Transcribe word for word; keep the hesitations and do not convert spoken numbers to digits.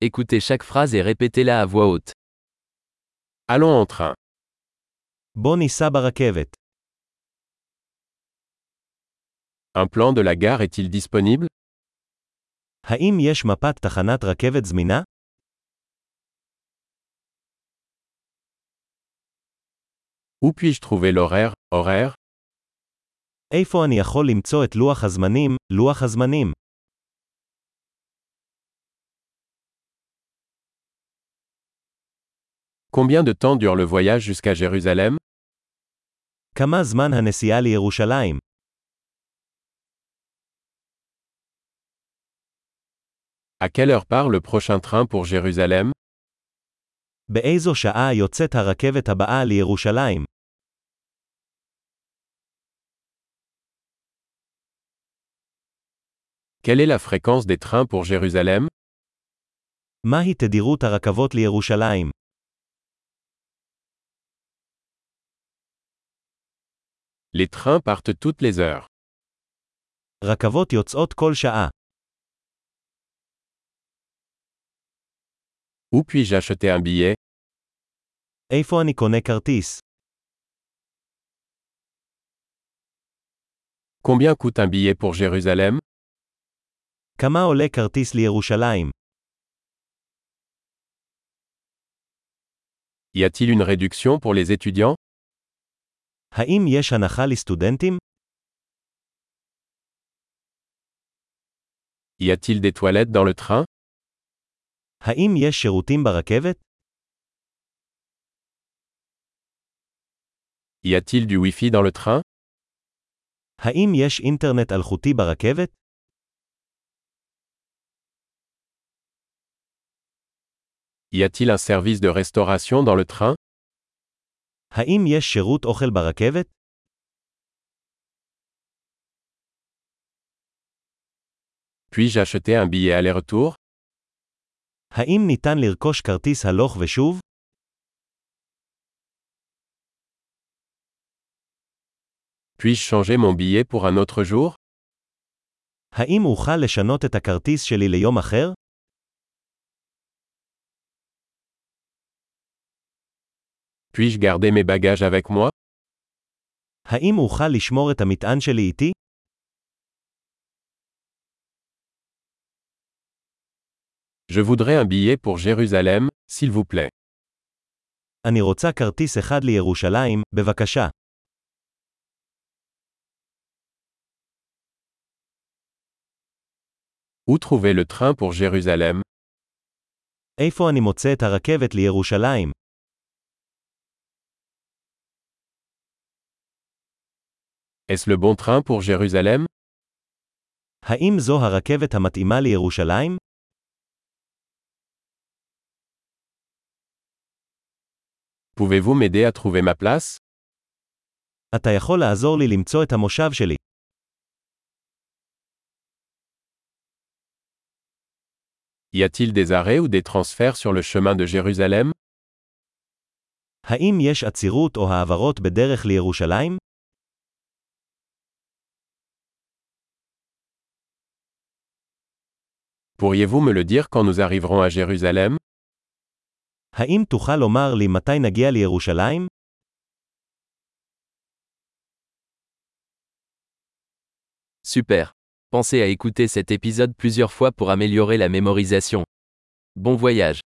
Écoutez chaque phrase et répétez-la à voix haute. Allons en train. בוא ניסע ברכבת. Un plan de la gare est-il disponible? האם יש מפת תחנת רכבת זמינה? Où puis-je trouver l'horaire, horaire? איפה אני יכול למצוא את לוח הזמנים, לוח הזמנים? Combien de temps dure le voyage jusqu'à Jérusalem? כמה זמן הנסיעה לירושלים? À quelle heure part le prochain train pour Jérusalem? באיזו שעה יוצאת הרכבת הבאה לירושלים? Quelle est la fréquence des trains pour Jérusalem? מהי תדירות הרכבות לירושלים? Les trains partent toutes les heures. רכבות יוצאות כל שעה. Où puis-je acheter un billet? איפה אני קונה כרטיס? Combien coûte un billet pour Jérusalem? כמה עולה כרטיס לירושלים? Y a-t-il une réduction pour les étudiants? האם יש הנחה לסטודנטים? Y a-t-il des toilettes dans le train? האם יש שירותים ברכבת? Y a-t-il du Wi-Fi dans le train? האם יש אינטרנט אלחוטי ברכבת? Y a-t-il un service de restauration dans le train? האם יש שירות אוכל ברכבת? Puis-je acheter un billet aller-retour? האם ניתן לרכוש כרטיס הלוך ושוב? Puis-je changer mon billet pour un autre jour? האם אוכל לשנות את הכרטיס שלי ליום אחר? Puis-je garder mes bagages avec moi? האם אוכל לשמור את המטען שלי איתי? Je voudrais un billet pour Jérusalem, s'il vous plaît. אני רוצה כרטיס אחד לירושלים, בבקשה. Où trouver le train pour Jérusalem? איפה אני מוצא את הרכבת לירושלים? Est-ce le bon train pour Jérusalem? האם זו הרכבת המתאימה לירושלים? Pouvez-vous m'aider à trouver ma place? אתה יכול לעזור לי למצוא את המושב שלי. Y a-t-il des arrêts ou des transferts sur le chemin de Jérusalem? האם יש עצירות או העברות בדרך לירושלים? Pourriez-vous me le dire quand nous arriverons à Jérusalem? האם תוכל לומר לי מתי נגיע לירושלים? Super. Pensez à écouter cet épisode plusieurs fois pour améliorer la mémorisation. Bon voyage.